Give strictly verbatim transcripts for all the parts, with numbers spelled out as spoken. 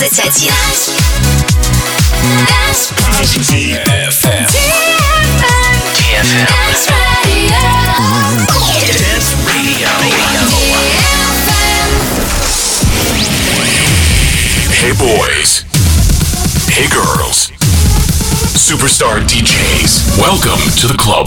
двадцать один. ди эф эм. Dance Radio. Hey boys. Hey girls. Superstar ди джейс. Welcome to the club.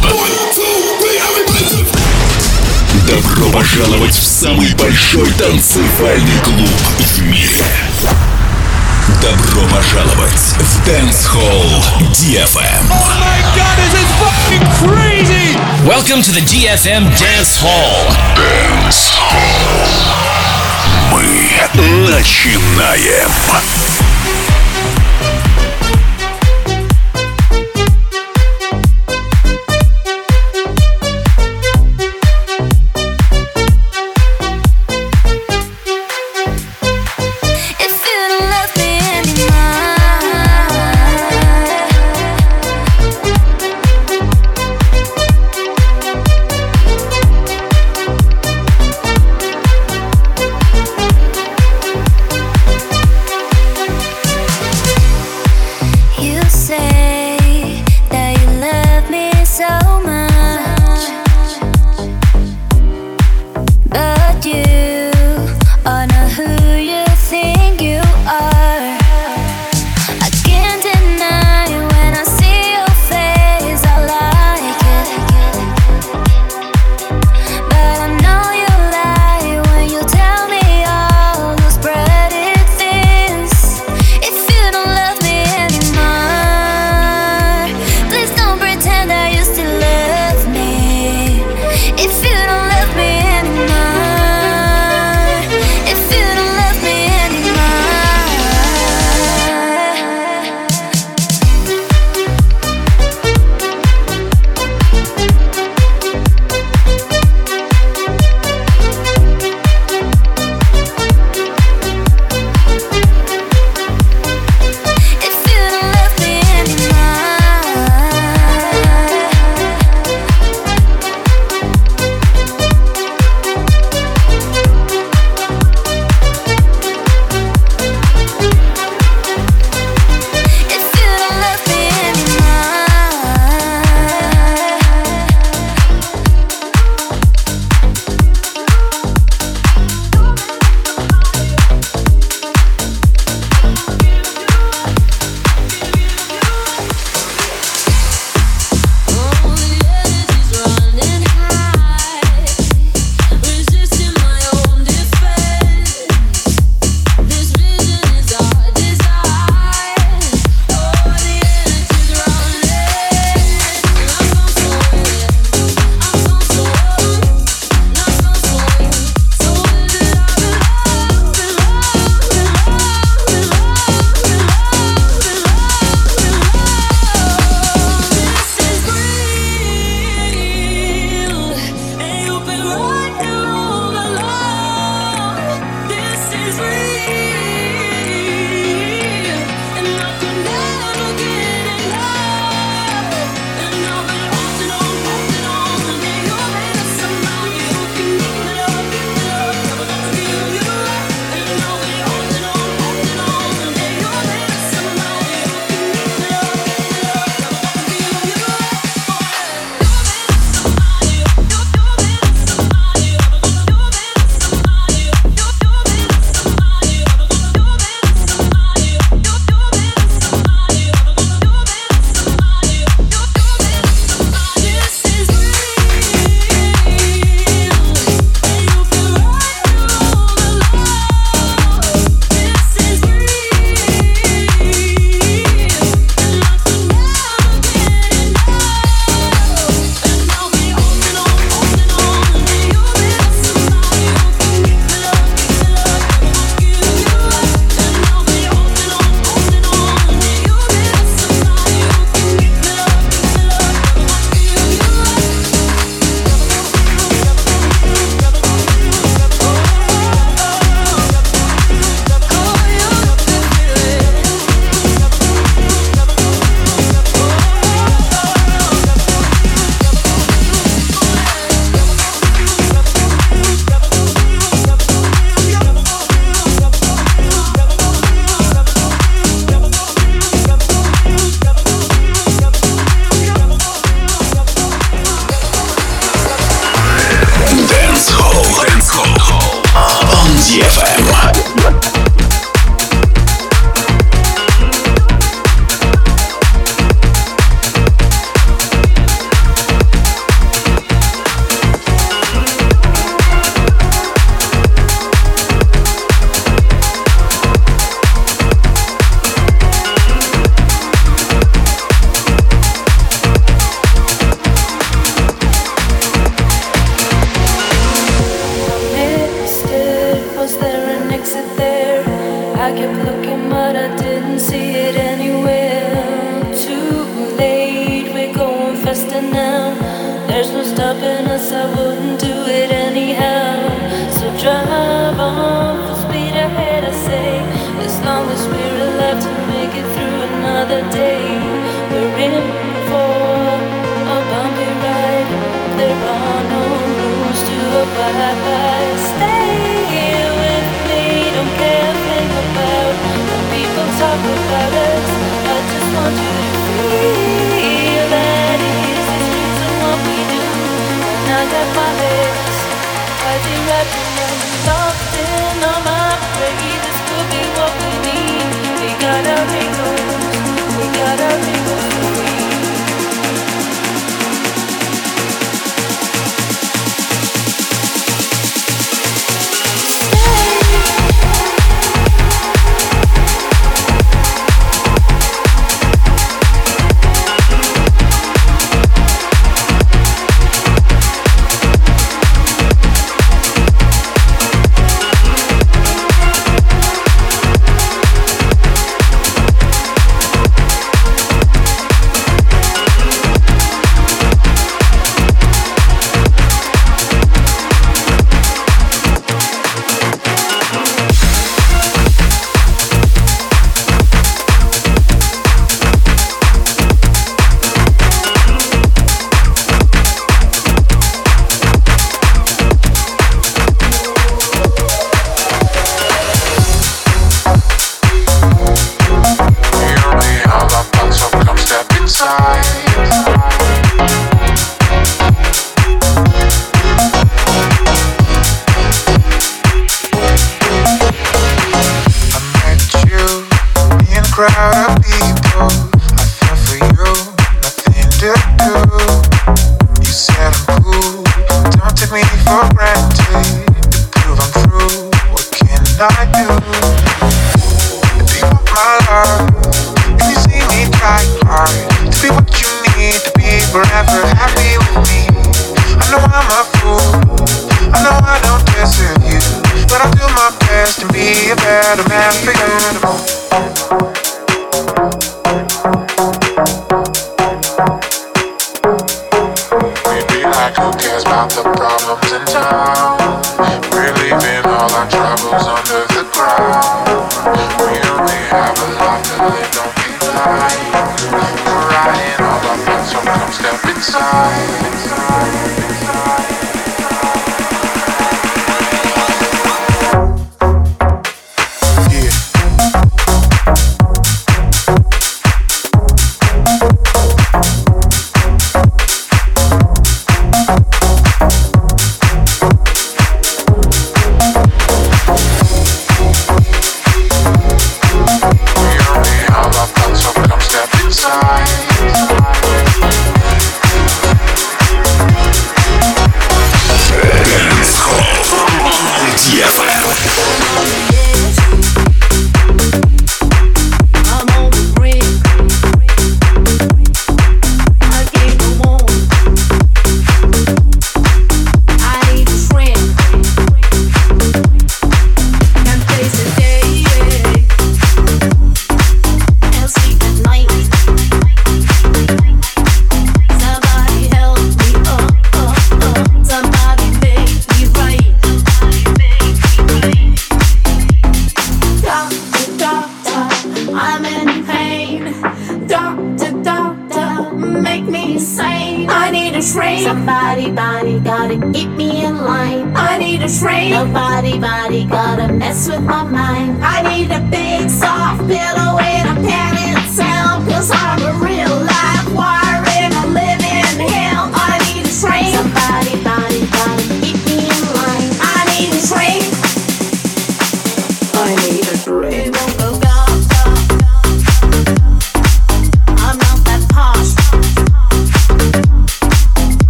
Добро пожаловать в самый большой танцевальный клуб в мире. Добро пожаловать в Dance Hall ди эф эм. Oh my God, this is fucking crazy! Welcome to the ди эф эм Dance Hall. Dance Hall. Мы начинаем. wasting now. There's no stopping us, I wouldn't do it anyhow. So drive on full speed ahead, I say, as long as we're alive to make it through another day. We're in for a bumpy ride. There are no rules to abide by. Stay here with me, don't care a thing about what people talk about us. I just want you to feel that it is the streets and what we do. And I got my legs fighting right around, locked in on my prey. This could be what we need. We got our angles, we got our angles free.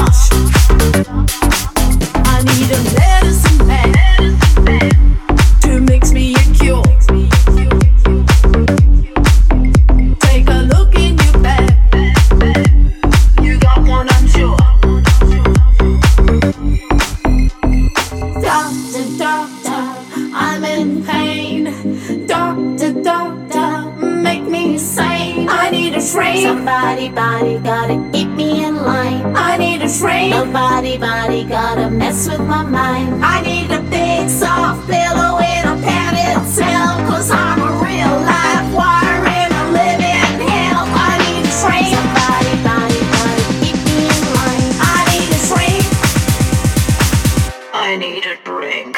Medicine man to a shrink. Somebody, body, gotta keep me in line. I need a shrink. Nobody, body, gotta mess with my mind. I need a big soft pillow in a padded cell, cause I'm a real live wire in a living hell. I need a shrink. Somebody, body, gotta keep me in line. I need a shrink. I need a drink.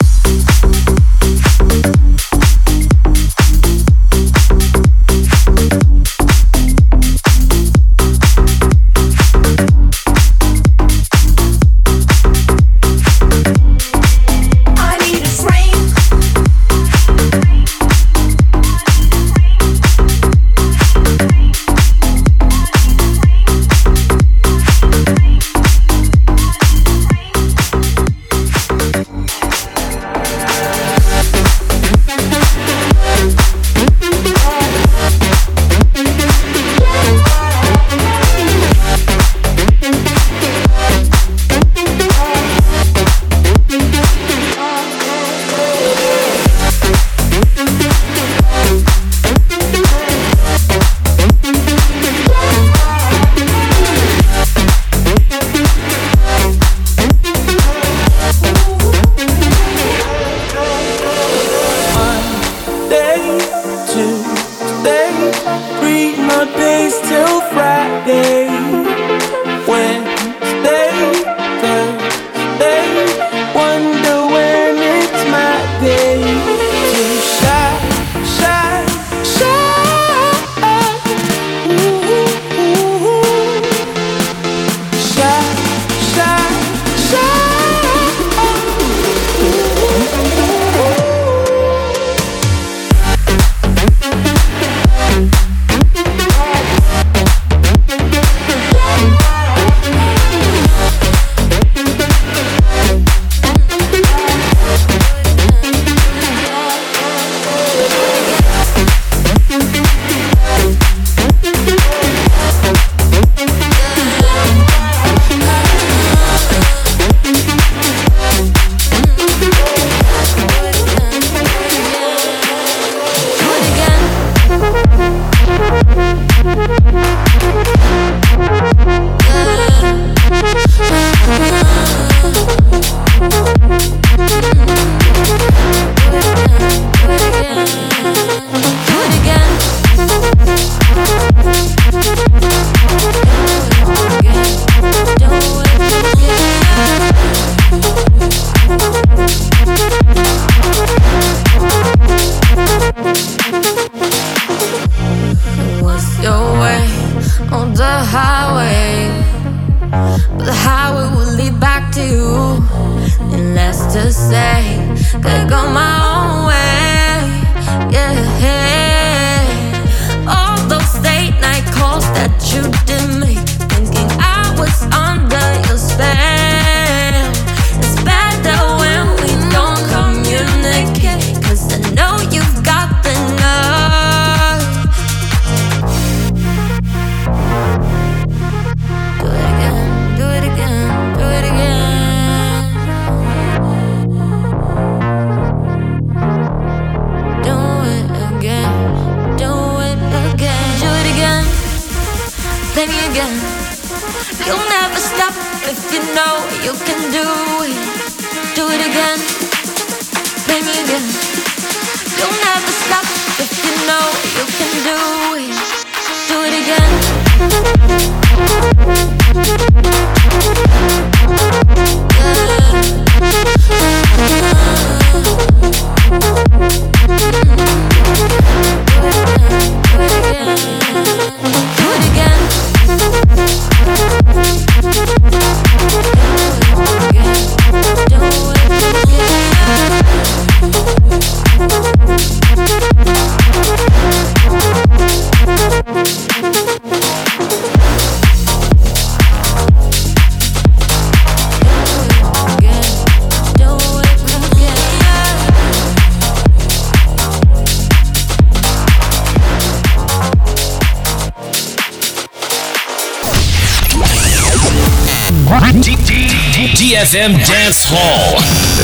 D F M Dance Hall.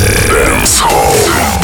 Dance Hall.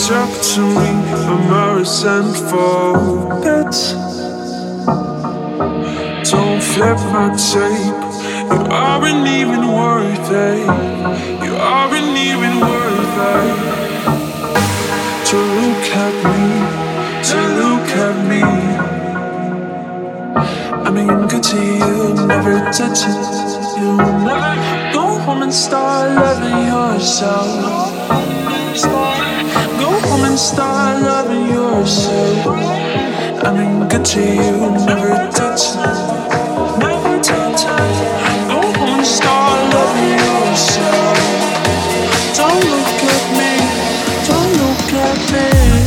talk to me, I'm a resentful bit. Don't flip my tape. You aren't even worth it. You aren't even worth it. To look at me, to look at me. I mean, good to you, never touch it. You never go home and start loving yourself. Go home and start loving yourself. I mean, good to you, never touch it. Never touch it. Go home and start loving yourself. Don't look at me, don't look at me.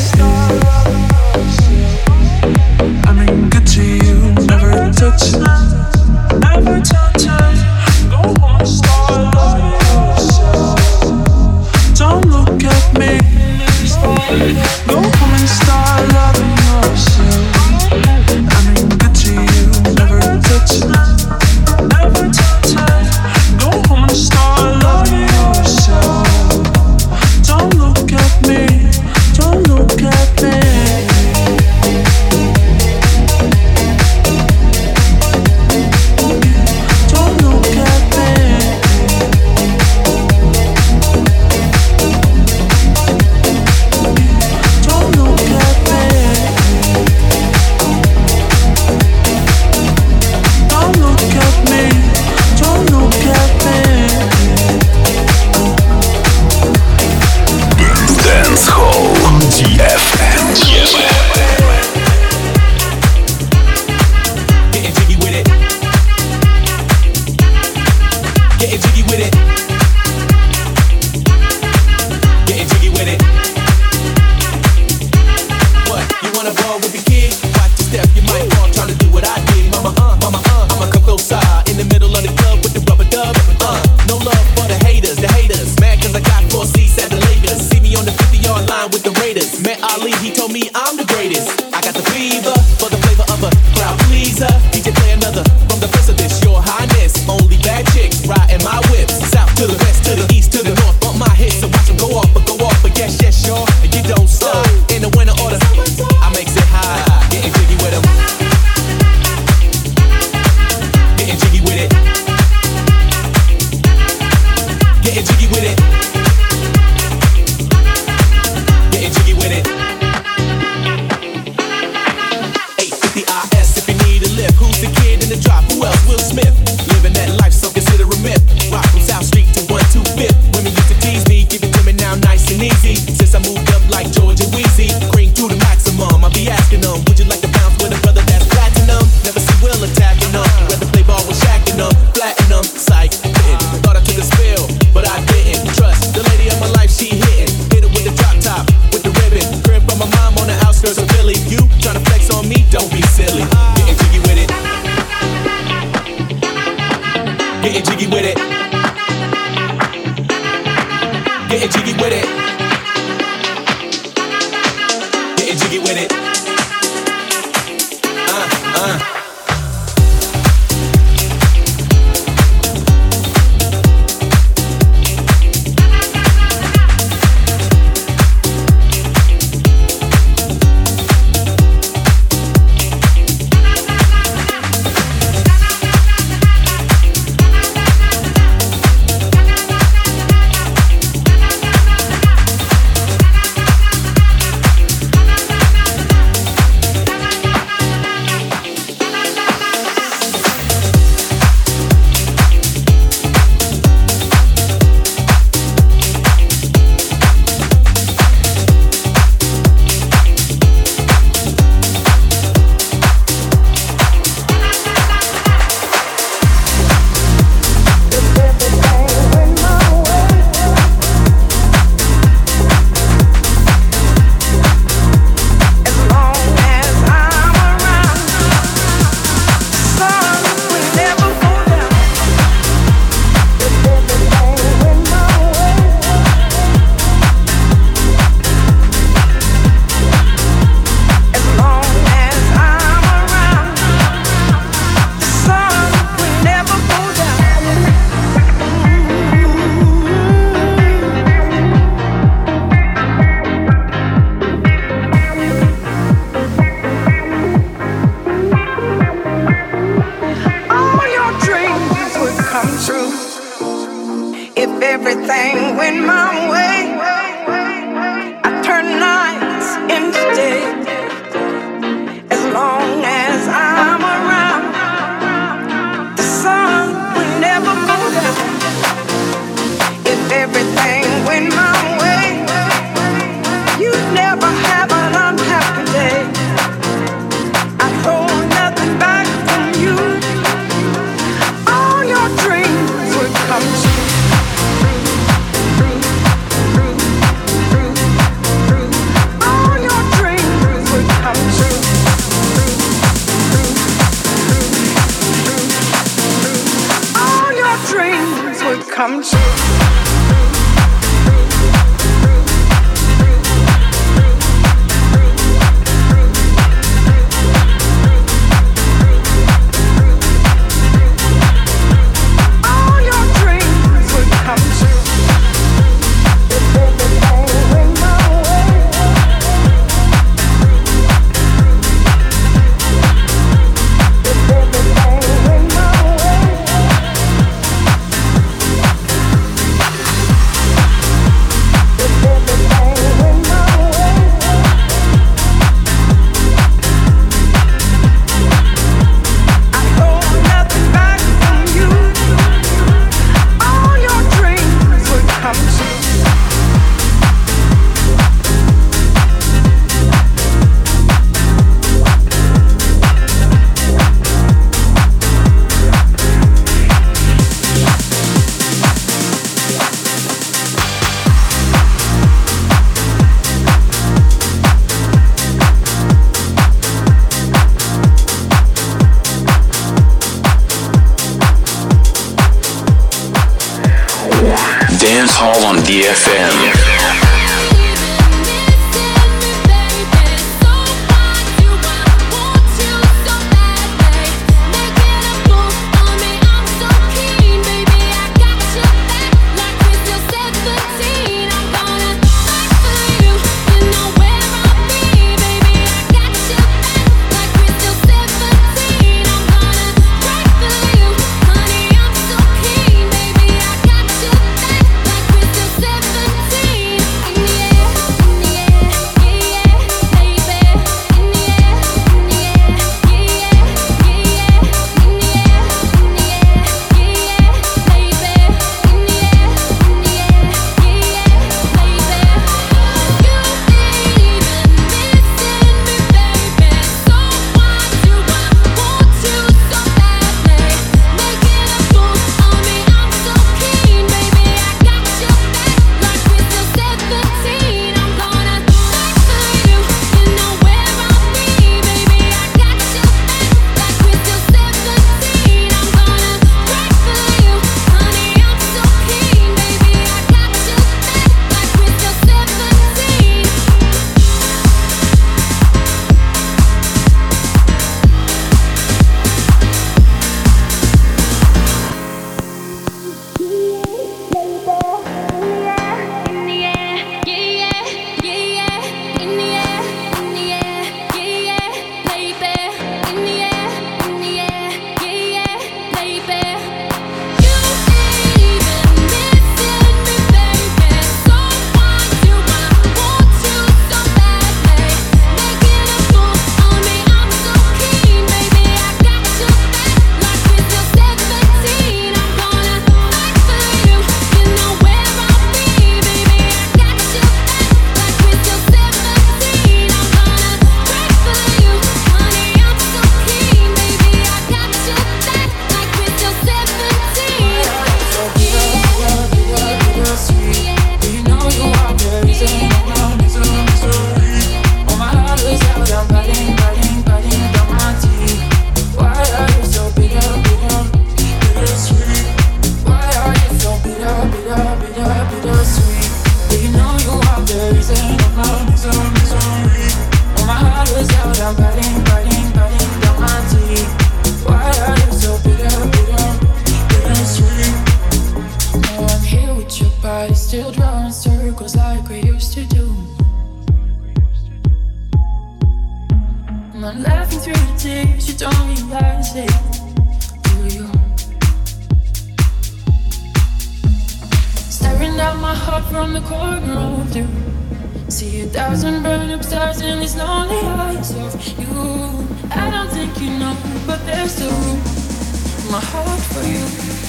I mean, good to you, never touch it. Never touch it. Go home and start loving yourself. Don't look at me. Go home and start loving yourself. I mean, good to you, never touch it. Never touch it. Go home and start loving yourself. Don't look at me. Don't look at me. Don't look at me. Don't look at me. Don't look at me. Don't look at me. Dance Hall ди эф эм. Getting jiggy with it. Getting jiggy with it. Getting jiggy with it. What? You wanna ball with the kid? Watch your step, you might fall trying to do what I did. Mama, uh, mama, uh, I'ma come close side in the middle of the club with the rubber dub. Uh, no love for the haters, the haters. Mad cause I got four seats at the Lakers. See me on the fifty-yard line with the Raiders. Met Ali, he told me I'm the greatest. I got the fever for the flavor of a crowd pleaser. D J play another from the first of this, your highness. Only bad chicks riding my whips. South to the west, to the east, to the north. Bump my hits, so watch them go off, but go off. But yes, yes, sure, and you don't stop. In the winter order, I makes it high. Getting jiggy with them. Getting jiggy with it. Getting jiggy with it. Getting jiggy with it. eight fifty I S if you need a lift. Who's the kid in the drop? Who else? Will Smith. Living that life, so consider a myth. Rock from South Street to one two fifth. Women used to tease me, give it to me now nice and easy. Since I moved up like Georgia Wheezy, cream to the maximum. I'll be asking them, would you like to bounce with a brother that's platinum? Never see Will attacking them. Rather play ball with Shaq and them, flatten them. Psych, didn't. Thought I took a spill, but I didn't. Trust the lady of my life, she hitting. Hit it with the drop top, with the ribbon. Crib from my mom on the outskirts of Philly. You tryna flex on me? Don't be silly. Getting jiggy with it. Getting jiggy with it. Getting jiggy with it. Getting jiggy with it. Uh, uh. everything went my way, I turn nights into day. As long as I'm around, the sun will never go down. If everything went my way, you'd never have an unhappy day. I'd hold nothing back from you. All your dreams would come true. All your dreams would come true. All your dreams would come true. Dance Hall on D F M. Staring Pulling out my heart from the corner of you. See a thousand burn up stars in these lonely eyes of you. I don't think you know, but there's still room in my heart for you,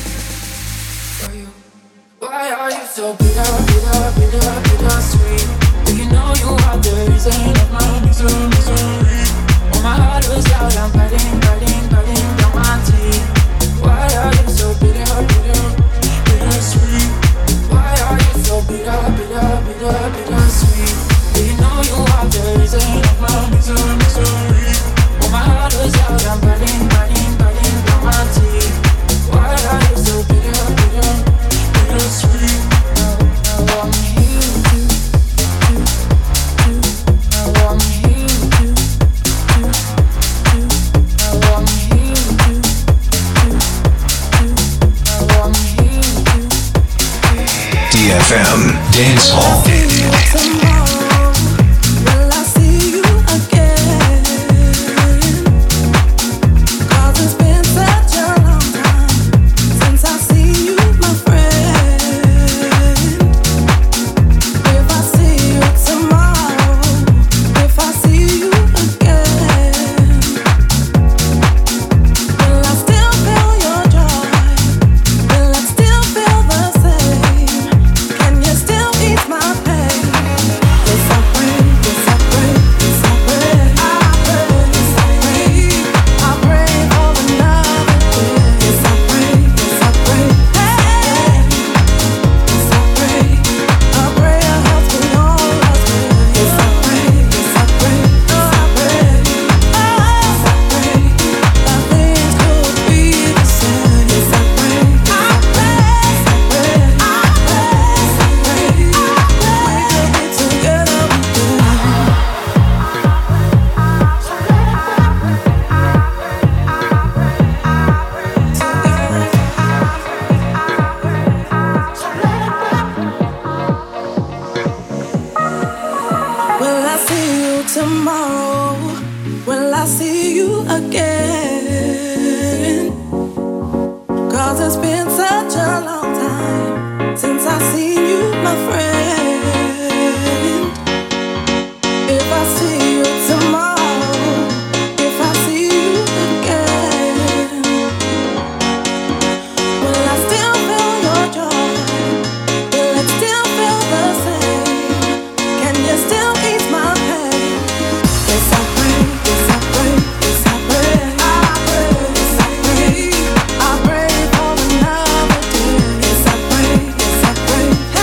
for you. Why are you so bitter, bitter, bitter, bitter sweet? Do you know you are the reason of my misery, misery? Oh, my heart was out, I'm biting, biting, biting down my teeth. Why are you so bitter, bitter, bitter sweet? Why are you so bitter, bitter, bitter, bitter sweet? Do you know you are the reason of my misery, misery? Oh, my heart was out, I'm biting, biting, biting down my teeth. Why are you so bitter, bitter, bitter sweet? Now, now I'm here to, to, to. Now I'm here to, to, to. Now I'm here to, to, to. Now I'm here to. D F M Dance Hall. Hey!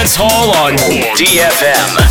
Dance Hall on D F M.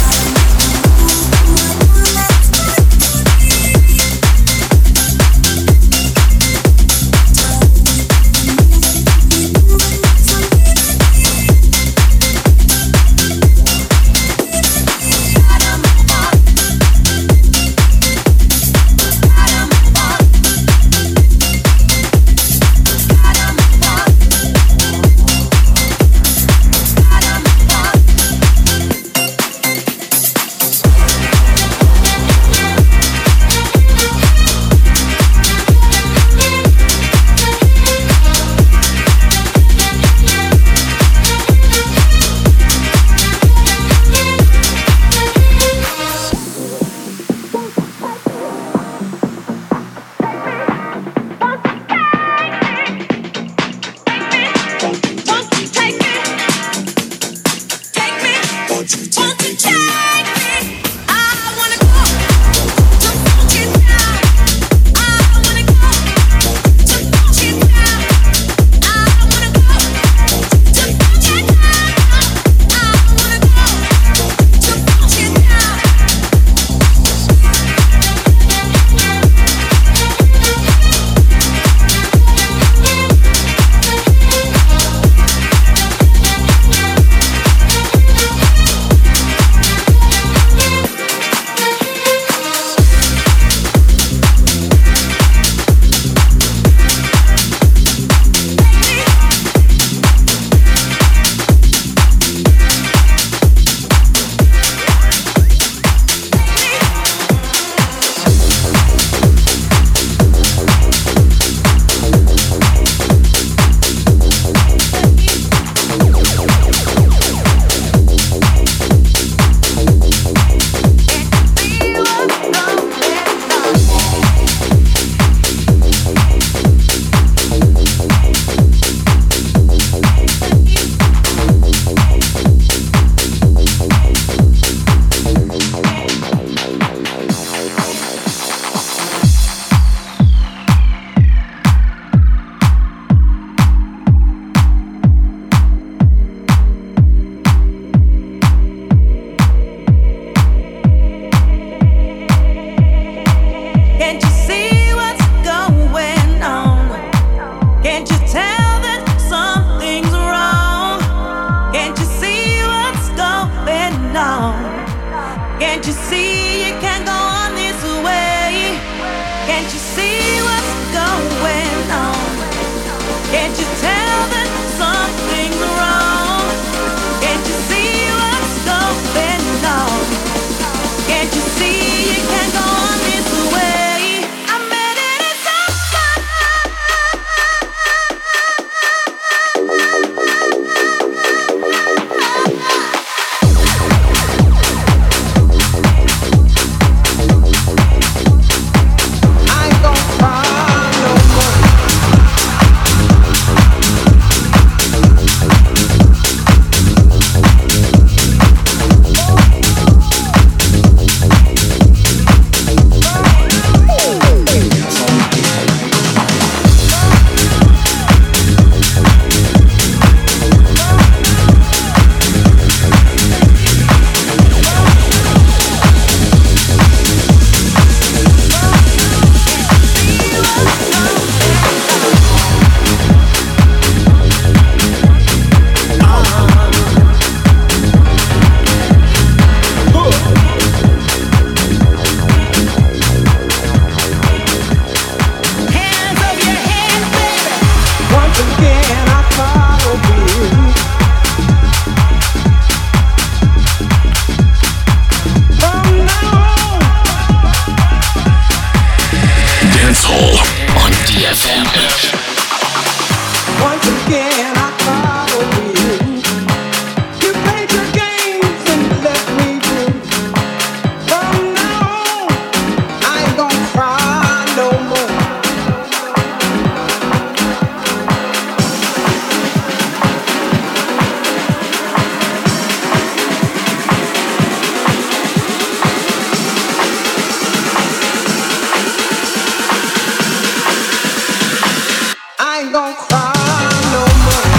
Don't cry no more.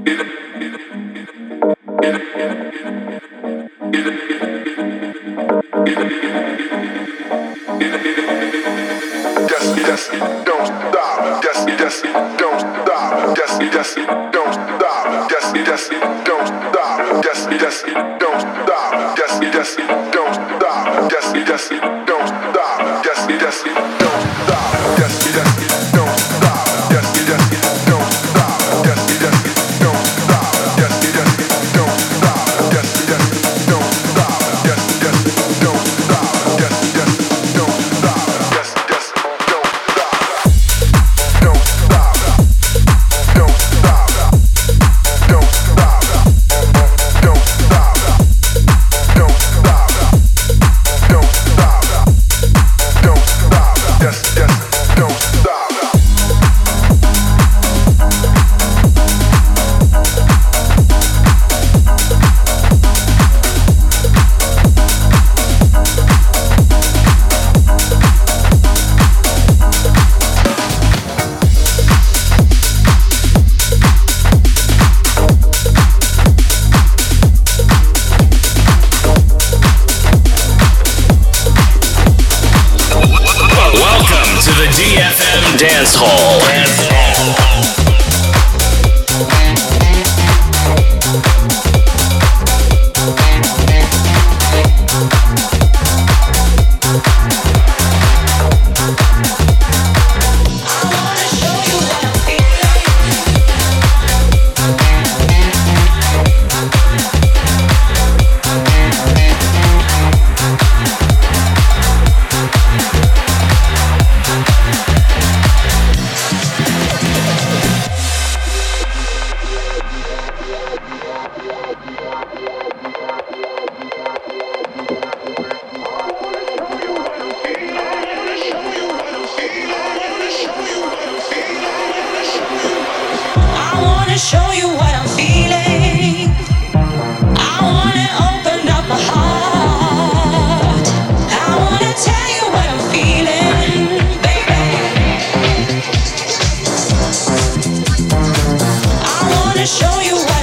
Dance Hall. Dance Hall. Show you what